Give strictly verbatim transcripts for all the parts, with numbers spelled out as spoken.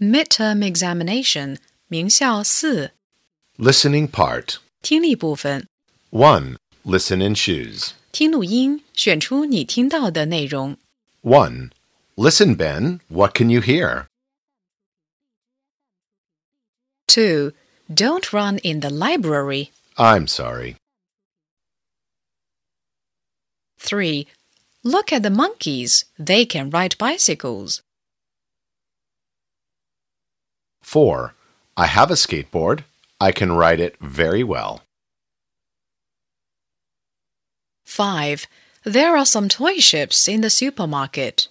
midterm examination 名校四 Listening part. 听力部分 one. Listen and choose. 听录音，选出你听到的内容。 one. Listen, Ben. What can you hear? two. Don't run in the library. I'm sorry. three. Look at the monkeys. They can ride bicycles. four. I have a skateboard. I can ride it very well. five. There are some toy ships in the supermarket.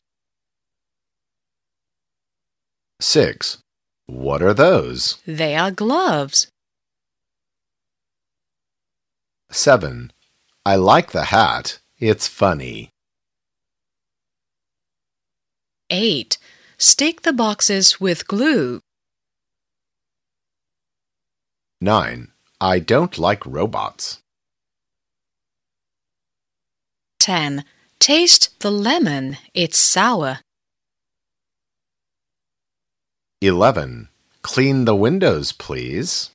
six. What are those? They are gloves. seven. I like the hat. It's funny. eight. Stick the boxes with glue. nine. I don't like robots. ten. Taste the lemon. It's sour. eleven. Clean the windows, please.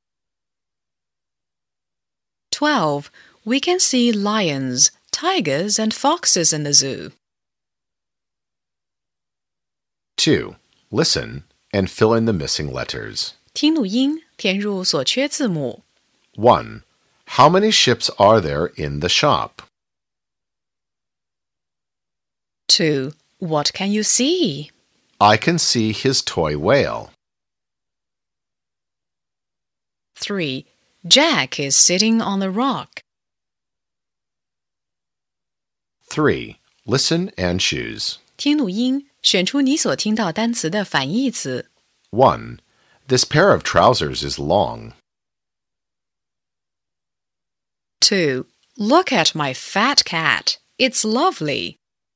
twelve. We can see lions, tigers, and foxes in the zoo. two. Listen and fill in the missing letters. 听录音，填入所缺字母。 one. How many ships are there in the shop? two. What can you see? I can see his toy whale. three. Jack is sitting on the rock. three. Listen and choose. 听录音，选出你所听到单词的反义词。 one. This pair of trousers is long. two. Look at my fat cat. It's lovely.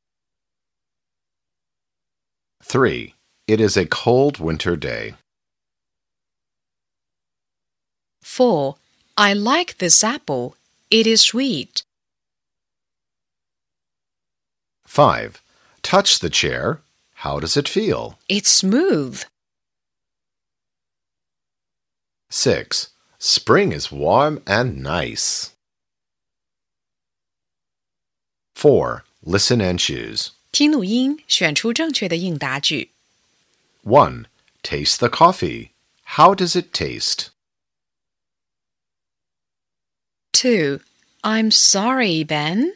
three. It is a cold winter day. four. I like this apple. It is sweet. five. Touch the chair. How does it feel? It's smooth. six. Spring is warm and nice. four. Listen and choose. 听录音，选出正确的应答句。 one. Taste the coffee. How does it taste? two. I'm sorry, Ben.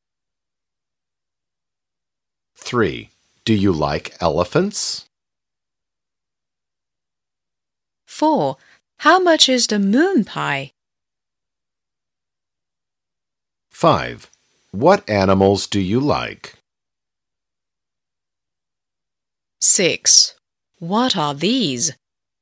three. Do you like elephants? four. How much is the moon pie? five. What animals do you like? six. What are these?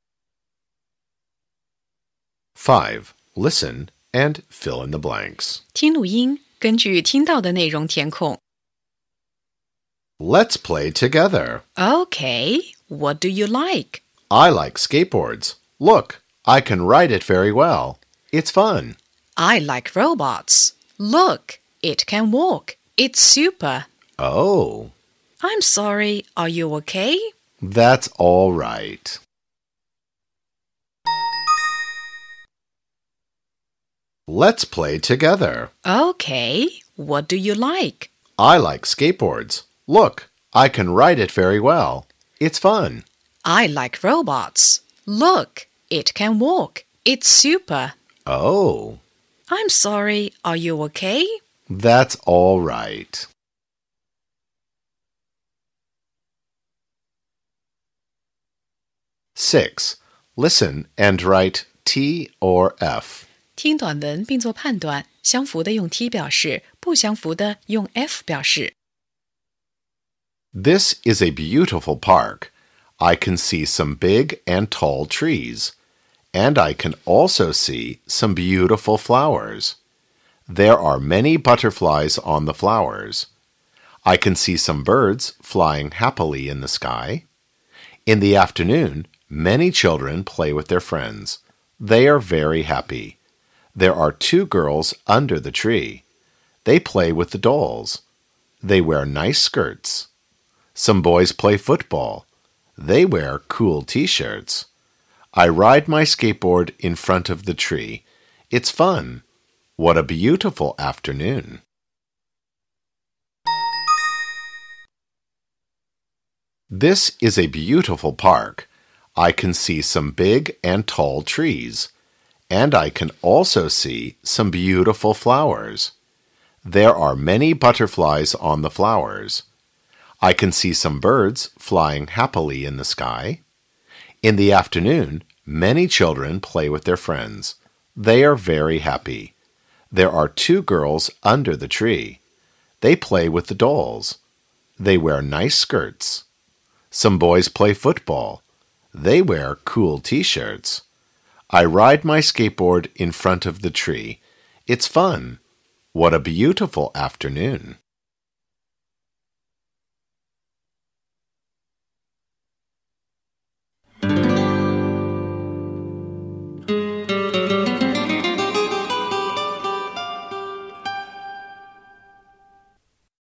five. Listen and fill in the blanks. 听录音，根据听到的内容填空。 Let's play together. Okay, what do you like? I like skateboards. Look, I can ride it very well. It's fun. I like robots. Look, it can walk. It's super. Oh, I'm sorry, are you okay? that's all right. Let's play together. Okay, what do you like? I like skateboards. Look, I can ride it very well. It's fun. I like robots. Look, it can walk. It's super. Oh, I'm sorry, are you okay? that's all right. six. Listen and write T or F. 听短文并做判断，相符的用 T 表示，不相符的用 F 表示。 This is a beautiful park. I can see some big and tall trees. And I can also see some beautiful flowers. There are many butterflies on the flowers. I can see some birds flying happily in the sky. In the afternoon, many children play with their friends. They are very happy. There are two girls under the tree. They play with the dolls. They wear nice skirts. Some boys play football. They wear cool t-shirts. I ride my skateboard in front of the tree. It's fun. What a beautiful afternoon. This is a beautiful park. I can see some big and tall trees, and I can also see some beautiful flowers. There are many butterflies on the flowers. I can see some birds flying happily in the sky. In the afternoon, many children play with their friends. They are very happy. There are two girls under the tree. They play with the dolls. They wear nice skirts. Some boys play football. They wear cool t-shirts. I ride my skateboard in front of the tree. It's fun. What a beautiful afternoon.